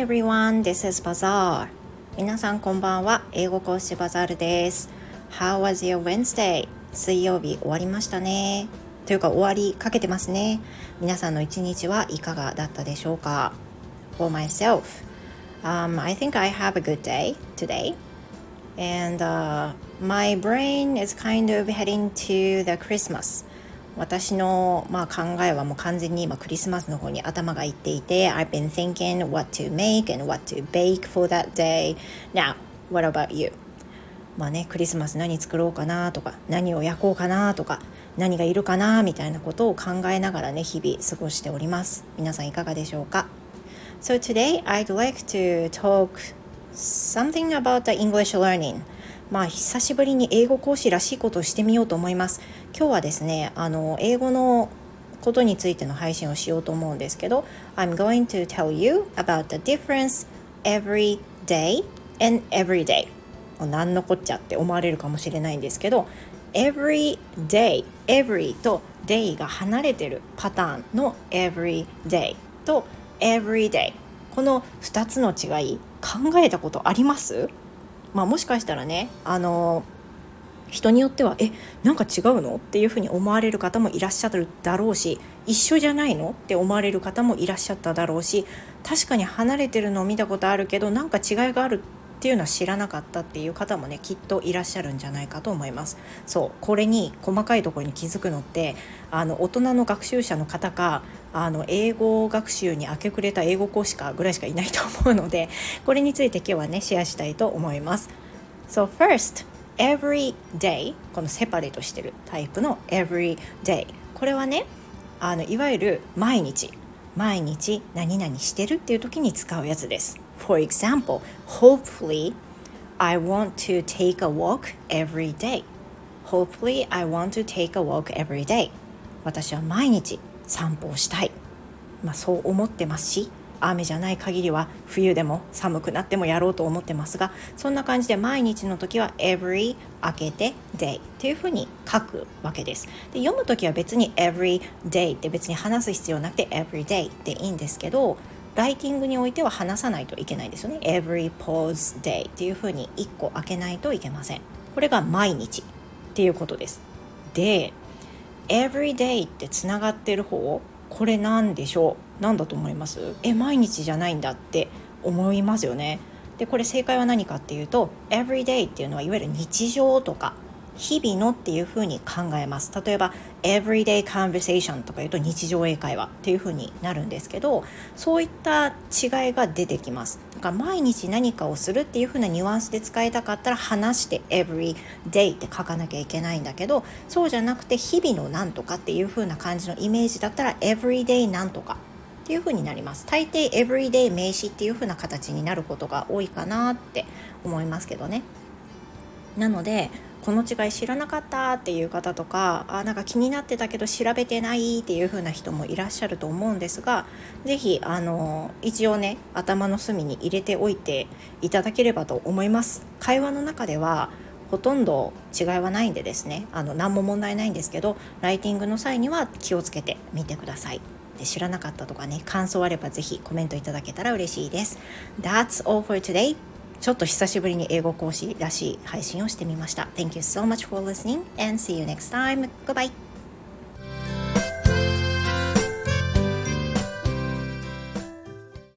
everyone, this is Bazaar. 皆さんこんばんは。英語講師バザールです。How was your Wednesday? 水曜日終わりましたね。というか終わりかけてますね。皆さんの一日はいかがだったでしょうか？ For myself, I think I have a good day today. And my brain is kind of heading to the Christmas.私の、考えはもう完全に今クリスマスの方に頭がいっていて I've been thinking what to make and what to bake for that day. Now, what about you? クリスマス何作ろうかなとか何を焼こうかなとか何がいるかなみたいなことを考えながらね日々過ごしております。皆さんいかがでしょうか？ So today I'd like to talk something about the English learning.久しぶりに英語講師らしいことをしてみようと思います。今日はですね、英語のことについての配信をしようと思うんですけど I'm going to tell you about the difference every day and every day 何のこっちゃって思われるかもしれないんですけど every day, every と day が離れてるパターンの every day と every day この2つの違い考えたことあります？もしかしたらね、人によってはなんか違うのっていうふうに思われる方もいらっしゃるだろうし一緒じゃないのって思われる方もいらっしゃっただろうし確かに離れてるのを見たことあるけどなんか違いがあるっていうのは知らなかったっていう方もねきっといらっしゃるんじゃないかと思います。そうこれに細かいところに気づくのって大人の学習者の方か英語学習に明け暮れた英語講師かぐらいしかいないと思うのでこれについて今日はねシェアしたいと思います。So first, every day このセパレートしてるタイプの every day これはねいわゆる毎日何々してるっていう時に使うやつです。For example, hopefully I want to take a walk every day. Hopefully I want to take a walk every day. 私は毎日散歩をしたい。そう思ってますし、雨じゃない限りは冬でも寒くなってもやろうと思ってますが、そんな感じで毎日の時は every 開けて day っていう風に書くわけです。で読む時は別に every day って別に話す必要なくて every day でいいんですけど、ライティングにおいては話さないといけないですよね。every pause day っていう風に1個開けないといけません。これが毎日っていうことです。で、every day ってつながってる方これなんでしょう？何だと思います？毎日じゃないんだって思いますよね。でこれ正解は何かっていうと everyday っていうのはいわゆる日常とか日々のっていうふうに考えます。例えば everyday conversation とか言うと日常英会話っていうふうになるんですけどそういった違いが出てきます。だから毎日何かをするっていうふうなニュアンスで使いたかったら話して everyday って書かなきゃいけないんだけどそうじゃなくて日々のなんとかっていうふうな感じのイメージだったら everyday なんとかっていう風になります。大抵 everyday 名詞っていう風な形になることが多いかなって思いますけどね。なのでこの違い知らなかったっていう方とかなんか気になってたけど調べてないっていう風な人もいらっしゃると思うんですがぜひ一応ね頭の隅に入れておいていただければと思います。会話の中ではほとんど違いはないんでですね何も問題ないんですけどライティングの際には気をつけてみてください。で知らなかったとかね感想あればぜひコメントいただけたら嬉しいです。 That's all for today. ちょっと久しぶりに英語講師らしい配信をしてみました。 Thank you so much for listening and see you next time. Goodbye.